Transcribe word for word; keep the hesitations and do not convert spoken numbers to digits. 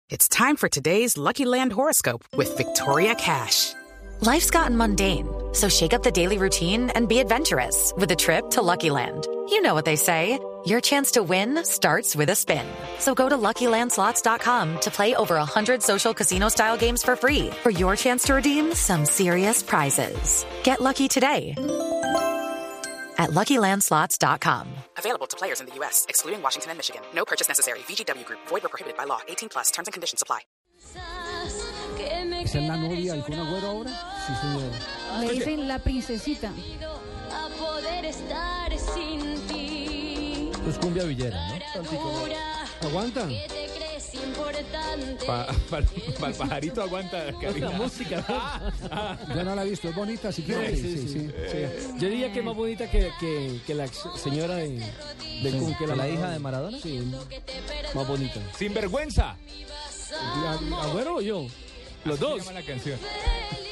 It's time for today's Lucky Land horoscope with Victoria Cash. Life's gotten mundane, so shake up the daily routine and be adventurous with a trip to Lucky Land. You know what they say, your chance to win starts with a spin. So go to Lucky Land Slots dot com to play over one hundred social casino-style games for free for your chance to redeem some serious prizes. Get lucky today at Lucky Land Slots dot com. Available to players in the U S, excluding Washington and Michigan. No purchase necessary. V G W Group. Void or prohibited by law. eighteen plus. Terms and conditions apply. ¿Esa es la novia del Kun Agüero ahora? Sí, señor. Le dicen la princesita. A poder estar sin ti. Pues cumbia villera, ¿no? ¿Aguantan? Que te crees importante. Para pa, pa, el pajarito aguanta. La música. Ah, ah. Yo no la he visto, es bonita, si quieres. Sí, sí, sí, sí. Eh, sí. Yo diría que es más bonita que, que, que la señora de, de sí, Kun, que la, la hija de Maradona. Sí, más bonita. Sin vergüenza. ¿Agüero o yo? Los Así dos. se llama la canción.